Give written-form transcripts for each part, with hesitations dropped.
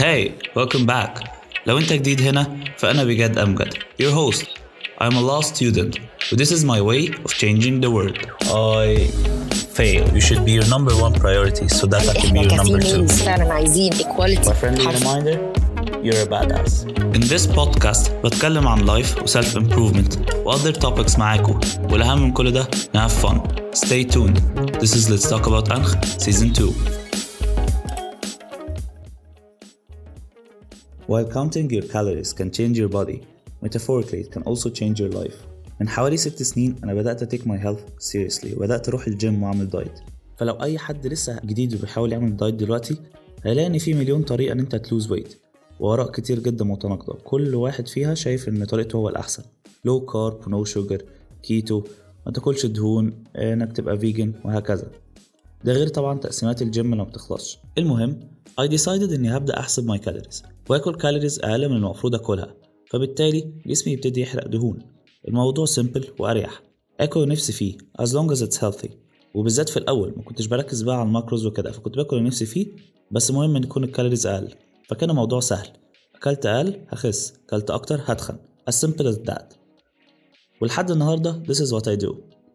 Hey, welcome back. لو انت جديد هنا فأنا بجد أمجد, your host. I'm a law student, but this is my way of changing the world. I fail. You should be your number one priority so that I can be your number two. فعلا عايزين equality. My friendly reminder, you're a badass. In this podcast بتكلم عن life و self-improvement و other topics معاكم, والأهم من كل ده have fun. Stay tuned. This is Let's Talk About أنخ Season 2. While counting your calories can change your body, metaphorically it can also change your life. من حوالي 6 سنين أنا بدأت take my health seriously وبدأت أروح الجيم وأعمل دايت. فلو أي حد لسه جديد وبيحاول يعمل دايت دلوقتي هيلاقي إن في مليون طريقة إن أنت تلوز ويت, وآراء كتير جدا متناقضة, كل واحد فيها شايف إن طريقته هو الأحسن. low carb, no sugar, keto, ما تاكلش دهون, إنك تبقى vegan وهكذا. ده غير طبعا تقسيمات الجيم لما بتخلصش. المهم I decided إني هبدأ أحسب my calories وأكل كالوريز أقل من المفروض أكلها, فبالتالي جسمي يبتدي يحرق دهون. الموضوع simple وأريح, أكل نفسي فيه as long as it's healthy. وبالذات في الأول ما كنتش بركز بقى على الماكروز وكده, فكنت باكل نفسي فيه, بس مهم إن يكون الكالوريز أقل. فكان الموضوع سهل, أكلت أقل هخس, أكلت أكتر هتخن, as simple as that. ولحد النهاردة this is what I do.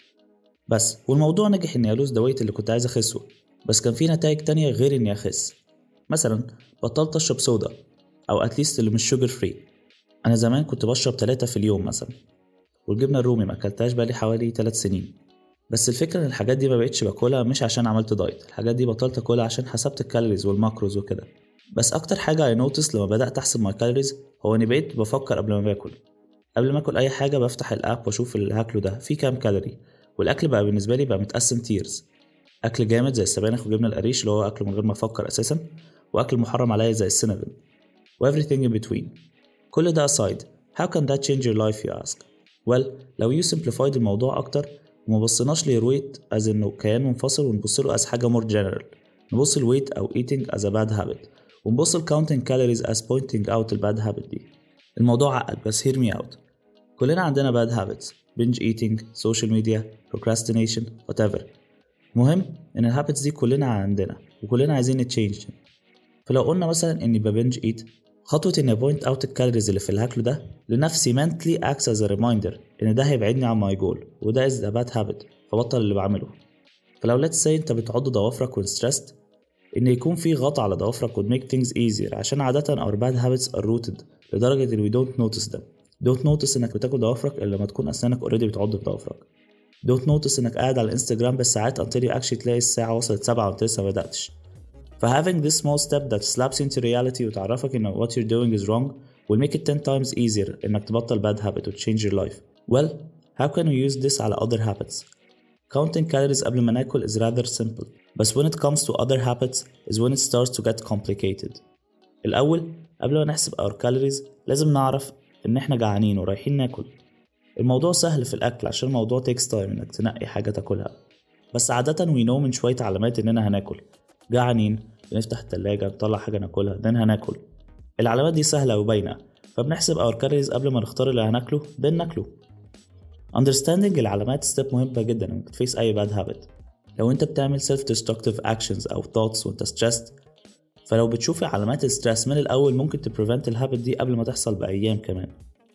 بس والموضوع نجح إني ألوز دويت اللي كنت عايز أخسه, بس كان في نتائج تانية غير إني أخس. مثلا بطلت أشرب صودا, أو أتليست اللي مش sugar free. أنا زمان كنت بشرب 3 في اليوم مثلا, والجبنة الرومي ما أكلتهاش بقالي حوالي 3 سنين. بس الفكرة إن الحاجات دي ما بقتش باكلها مش عشان عملت دايت, الحاجات دي بطلت أكلها عشان حسبت الكالوريز والماكروز وكده. بس أكتر حاجة I noticed لما بدأت أحسب my calories هو إني بقيت بفكر قبل ما باكل. قبل ما أكل أي حاجة بفتح الأب وأشوف اللي هاكله ده فيه كام كالوري, والأكل بقى بالنسبة لي بقى متقسم تيرز. أكل جامد زي السبانخ وجبنة القريش اللي هو أكله من غير ما أفكر أساسا, وأكل محرم عليا زي السينابون, و everything in between. كل ده aside, how can that change your life you ask? Well, لو you simplified الموضوع أكتر وما بصيناش للويت as إنه كيان منفصل, ونبصله as حاجة more general. نبص الويت أو eating as a bad habit, ونبص counting calories as pointing out the bad habit دي. الموضوع عقد, بس hear me out. كلنا عندنا bad habits, binge eating, social media, procrastination, whatever. مهم إن الهابتس دي كلنا عندنا وكلنا عايزين نتشينج. فلو قلنا مثلا إني ببنج eat, خطوة إني point out الكالوريز اللي في الهاكل ده لنفسي mentally acts as a reminder إن ده هيبعدني عن my goal, وده is a bad habit, فبطل اللي بعمله. فلو let's say أنت بتعض ضوافرك when stressed, إن يكون في غطاء على ضوافرك would make things easier, عشان عادة our bad habits are rooted لدرجة إن we don't notice them. don't notice إنك بتاكل ضوافرك إلا لما تكون أسنانك already بتعض في ضوافرك. don't notice إنك قاعد على الانستجرام بالساعات until you actually تلاقي الساعة وصلت 7 وانت لسه بدأتش. having this small step that slaps into reality وتعرفك إن what you're doing is wrong will make it 10 times easier إنك تبطل bad habit and change your life. Well, how can we use this على other habits? Counting calories قبل ما ناكل is rather simple, but when it comes to other habits is when it starts to get complicated. الأول قبل ما نحسب our calories لازم نعرف إن إحنا جعانين ورايحين ناكل. الموضوع سهل في الأكل عشان الموضوع takes time إنك تنقي حاجة تاكلها, بس عادة we know من شوية علامات إننا هناكل. جعانين, بنفتح التلاجة نطلع حاجة ناكلها, then هناكل. العلامات دي سهلة وباينة, فبنحسب our calories قبل ما نختار اللي هناكله then ناكله. Understanding العلامات step مهمة جدا إنك تفيس أي bad habit. لو أنت بتعمل self-destructive actions أو thoughts وأنت stressed, فلو بتشوف علامات الستريس من الأول ممكن تبريفنت الهابت دي قبل ما تحصل بأيام كمان.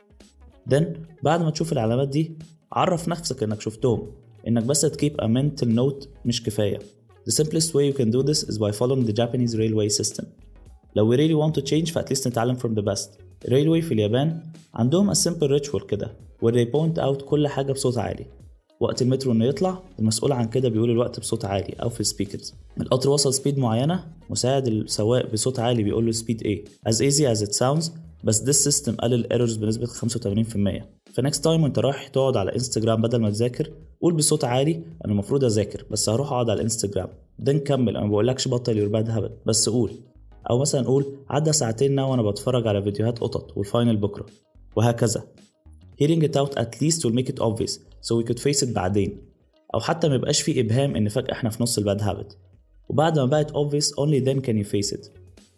then بعد ما تشوف العلامات دي عرف نفسك إنك شفتهم, إنك بس keep a mental note مش كفاية. The simplest way you can do this is by following the Japanese railway system. لو we really want to change فat least نتعلم from the best. railway في اليابان عندهم a simple ritual كده where they point out كل حاجة بصوت عالي. وقت المترو إنه يطلع المسؤول عن كده بيقول الوقت بصوت عالي أو في السبيكرز. القطر وصل سبيد معينة, مساعد السواق بصوت عالي بيقول له سبيد ايه as easy as it sounds, بس this system قلل errors بنسبة 85%. فnext time وانت رايح تقعد على انستجرام بدل ما تذاكر قول بصوت عالي أنا المفروض أذاكر بس هروح أقعد على الانستجرام, ده نكمل. أنا بقولكش بطل your bad habit, بس قول. أو مثلا قول عدى 2 ساعتين وأنا بتفرج على فيديوهات قطط والفاينل بكرة, وهكذا. Hearing it out at least will make it obvious so we could face it بعدين, أو حتى ما يبقاش فيه إبهام إن فجأة إحنا في نص الباد habit, وبعد ما بقت obvious only then can you face it.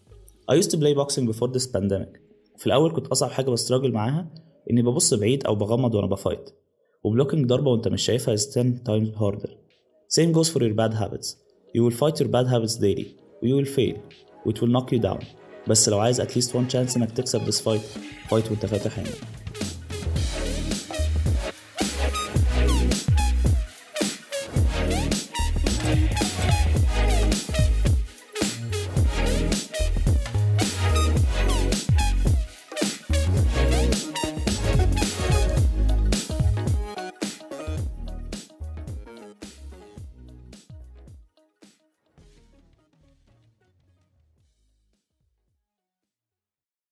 I used to play boxing before this pandemic. في الأول كنت أصعب حاجة بستراجل معاها إني ببص بعيد أو بغمض وأنا بفايت, وبلوكينج ضربة وأنت مش شايفها is 10 times harder. Same goes for your bad habits. You will fight your bad habits daily, you will fail, which will knock you down. بس لو عايز at least one chance انك تكسب this fight وانت فاتح عينك.